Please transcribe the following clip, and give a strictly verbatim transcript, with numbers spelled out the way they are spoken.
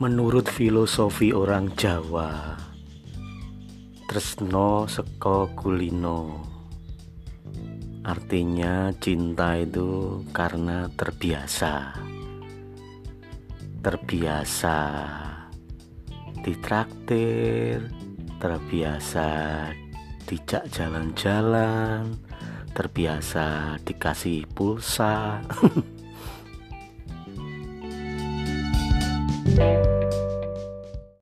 Menurut filosofi orang Jawa, tresno seko kulino. Artinya cinta itu karena terbiasa. Terbiasa ditraktir, terbiasa dijak jalan-jalan, terbiasa dikasih pulsa.